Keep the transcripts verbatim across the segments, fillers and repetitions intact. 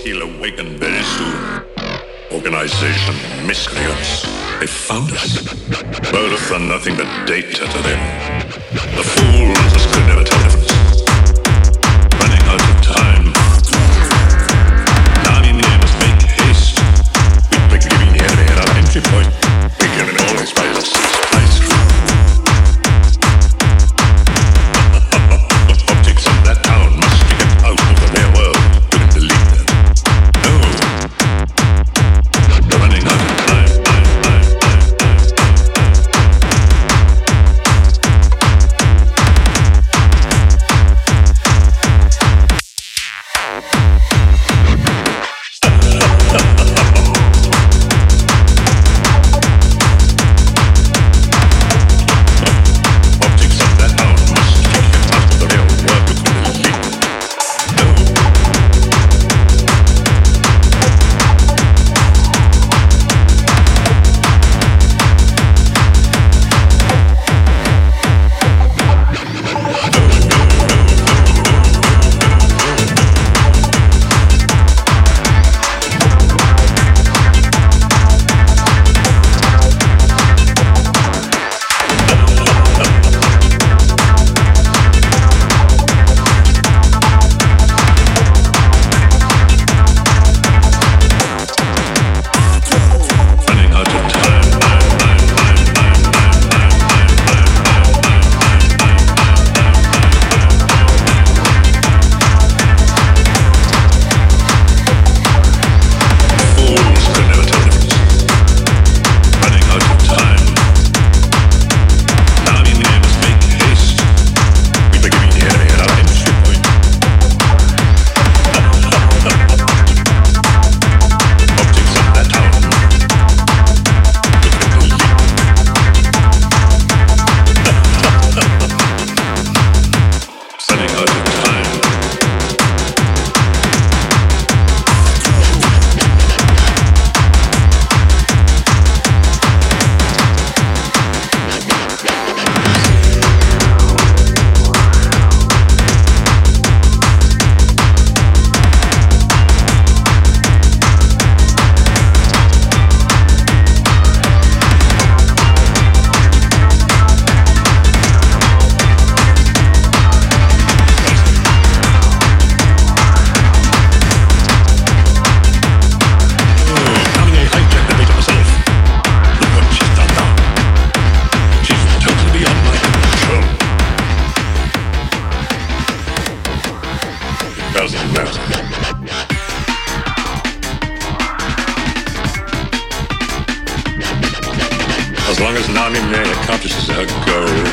he'll awaken very soon. Organization miscreants. They found us. Both are nothing but data to them. The fools could never tell difference. Running out of time. Now in the air must make haste. We're giving the enemy at our entry point. We can always buy the supplies through. Optics of that town must be kept out of the real world. Couldn't believe that. No. We're running out of time. As long as Nami May accomplishes her goal.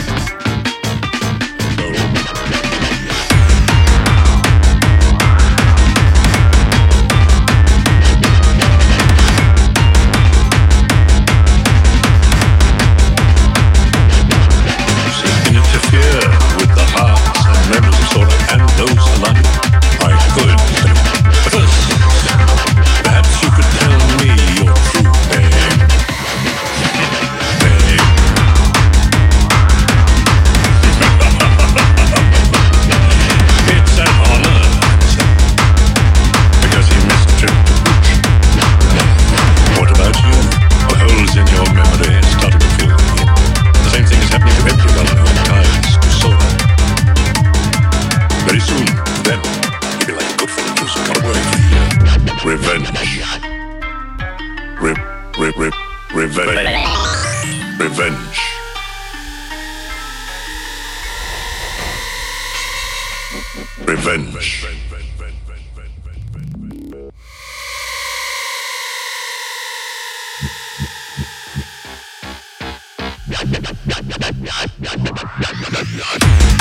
Revenge. Re, re, re, revenge. Revenge. Revenge. Revenge.